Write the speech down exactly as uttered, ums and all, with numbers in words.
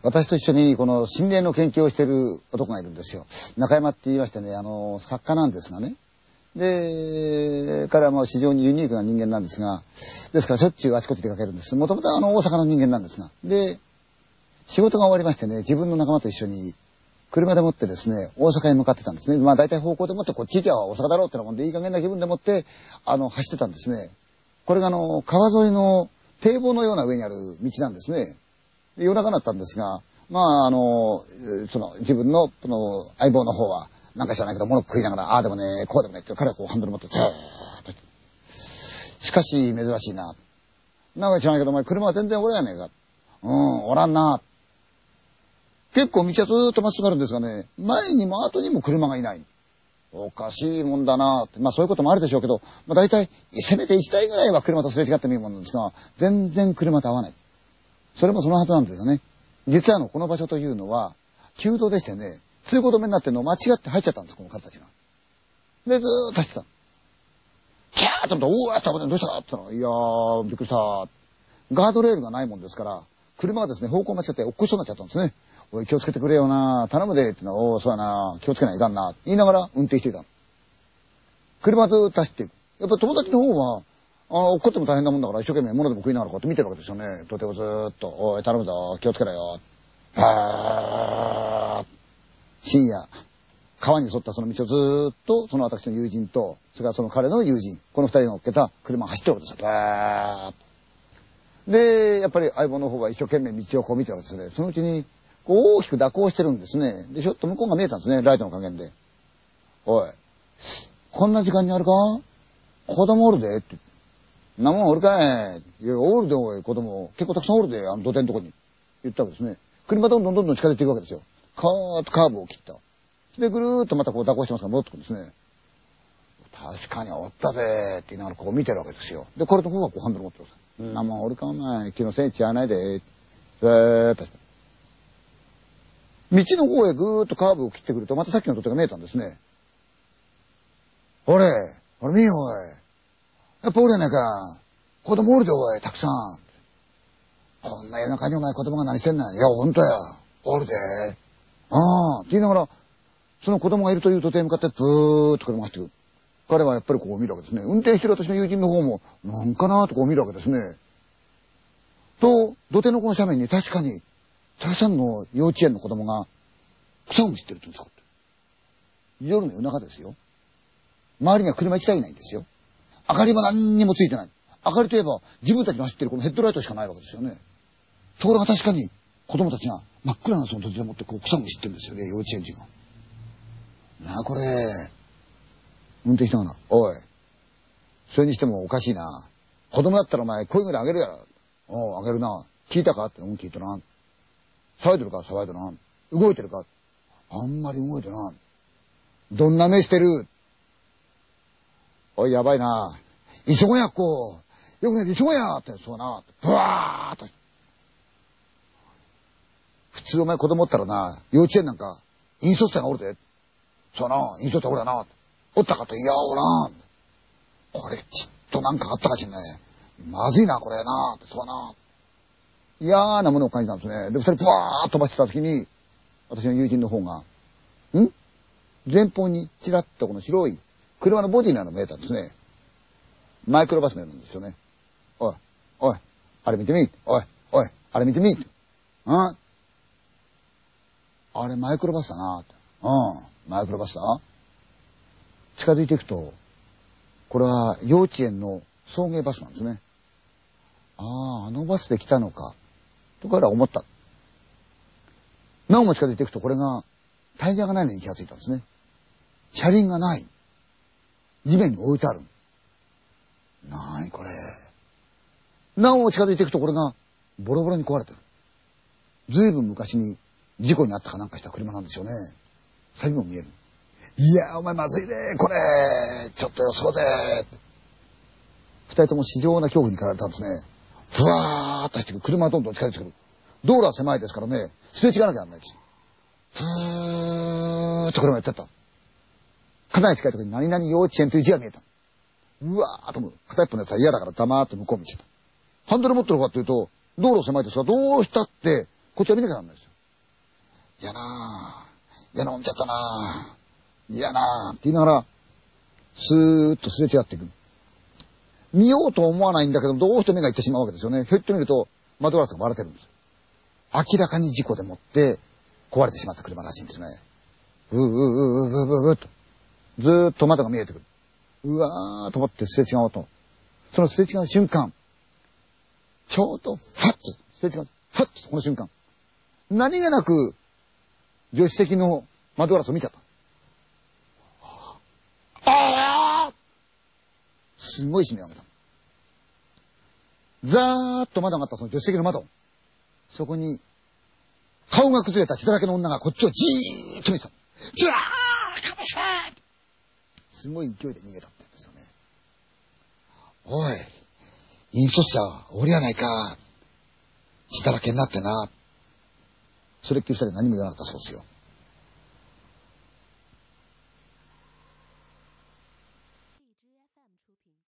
私と一緒にこの心霊の研究をしている男がいるんですよ。中山って言いましてね、あの、作家なんですがね。で、彼はもう非常にユニークな人間なんですが、ですからしょっちゅうあちこち出かけるんです。もともとあの、大阪の人間なんですが。で、仕事が終わりましてね、自分の仲間と一緒に車でもってですね、大阪へ向かってたんですね。まあ大体方向でもってこっち行きゃ大阪だろうってなもんでいい加減な気分でもって、あの、走ってたんですね。これがあの、川沿いの堤防のような上にある道なんですね。夜中だったんですが、まああの、その自分のこの相棒の方は、なんか知らないけど物食いながら、ああでもね、こうでもねって彼はこうハンドル持ってずーっと。しかし珍しいな。なんか知らないけどお前車は全然おらんやねえか。うん、おらんな。結構道はずーっとまっすぐあるんですがね、前にも後にも車がいない。おかしいもんだなって。まあそういうこともあるでしょうけど、まあ大体、せめていちだいぐらいは車とすれ違ってみるもんなんですが、全然車と合わない。それもそのはずなんですよね。実はあの、この場所というのは、旧道でしてね、通行止めになってるのを間違って入っちゃったんです、この方たちが。で、ずーっと走ってた。キャーッと思ったら、うわーって危ない、どうしたって言ったら、いやー、びっくりした。ガードレールがないもんですから、車がですね、方向間違って落っこちそうになっちゃったんですね。おい、気をつけてくれよな、頼むで、ってのは、おー、そうやな、気をつけないかんな、言いながら運転していた。車ずーっと走っていく。やっぱ友達の方は、ああ、落っこっても大変なもんだから一生懸命物でも食いながらこうやって見てるわけですよね。とてもずーっと、おい、頼むぞ、気をつけろよ。あー、深夜、川に沿ったその道をずーっと、その私の友人と、それからその彼の友人、この二人が乗っけた車が走ってるわけですよ。バーッと。で、やっぱり相棒の方は一生懸命道をこう見てるわけですね。そのうちに、こう大きく蛇行してるんですね。で、ちょっと向こうが見えたんですね、ライトの加減で。おい、こんな時間にあるか子供おるでって。なもんおるかい。いや、おるでおい、子供。結構たくさんおるで、あの土手のとこに。言ったわけですね。車どんどんどんどん近づいていくわけですよ。カーッとカーブを切った。で、ぐるーっとまたこう蛇行してますから戻ってくるんですね。確かにおったぜーって言いながらこう見てるわけですよ。で、これの方はこうハンドル持ってください。んなもんおるかお前。気のせいちやないでー。えーっと。道の方へぐーっとカーブを切ってくると、またさっきの土手が見えたんですね。俺、俺見よおい。やっぱおるやないか。子供おるでおい、たくさん。こんな夜中にお前子供が何してんねん。いや、ほんとや。おるで。ああ、って言いながら、その子供がいるという土手に向かってずーっと車が走ってくる。彼はやっぱりこう見るわけですね。運転してる私の友人の方も、なんかなーとこう見るわけですね。と、土手のこの斜面に確かに、たくさんの幼稚園の子供が草をむしってるって言うんですか。夜の夜中ですよ。周りには車一台いないんですよ。明かりも何にもついてない。明かりといえば自分たちの走ってるこのヘッドライトしかないわけですよね。ところが確かに子供たちが真っ暗なその土手でもってこう草むしってるんですよね、幼稚園児が。なあこれ、運転しながら、おい、それにしてもおかしいな。子供だったらお前声であげるやろ。おう、あげるな。聞いたかって、うん、聞いたな。騒いでるか騒いでるな。動いてるかあんまり動いてない。どんな目してるおい、やばいな。急ごやっこ。よくね、急ごやって、そうな。ブワーっと。普通お前子供ったらな、幼稚園なんか、引率生がおるで。そうな、引率生おるやな。おったかって、いや、おらん。これ、きっとなんかあったかしんね。まずいな、これな。って、そうな。嫌なものを感じたんですね。で、二人ブワーっと飛ばしてた時に、私の友人の方が、ん前方にちらっとこの白い車のボディなのが見えたんですね。マイクロバスのようなんですよね。おい、おい、あれ見てみ。おい、おい、あれ見てみ。ああれマイクロバスだな。うん、マイクロバスだ。近づいていくと、これは幼稚園の送迎バスなんですね。ああ、あのバスで来たのか。と彼は思った。なおも近づいていくと、これがタイヤがないのに気がついたんですね。車輪がない。地面に置いてある。なーにこれ。なおも近づいていくと、これがボロボロに壊れてる。ずいぶん昔に事故に遭ったかなんかした車なんでしょうね。錆も見える。いやー、お前まずいねー、これちょっと予想でー。二人とも非常な恐怖に駆られたんですね。ふわーっと走ってくる。車がどんどん近づいてくる。道路は狭いですからね、すれ違わなきゃならないし。ふーっと車がやってった。かなり近いところに何々幼稚園という字が見えた。うわーっともう片一方のやつは嫌だから黙って向こう見ちゃった。ハンドル持ってるかっていうと、道路狭いですからどうしたってこっちは見なきゃならないですよ。 嫌なぁ。嫌なもん見ちゃったなぁ。嫌なぁ。って言いながら、スーッとすれ違っていく。見ようと思わないんだけど、どうして目が行ってしまうわけですよね。ひょいっと見ると、窓ガラスが割れてるんです。明らかに事故でもって壊れてしまった車らしいんですね。うーうーうーうーうーうーと。ずーっと窓が見えてくる。うわーと思ってすれ違おうと。そのすれ違う瞬間、ちょうどファッと、すれ違う、ファッとこの瞬間、何気なく助手席の窓ガラスを見ちゃった。ああすごい悲鳴を上げた。ザーッと窓があったその助手席の窓。そこに、顔が崩れた血だらけの女がこっちをじーっと見てた。じわーかもしれんすごい勢いで逃げたって言うんですよね。おい、引率者、俺やないか。血だらけになってな。それっきり二人何も言わなかったそうですよ。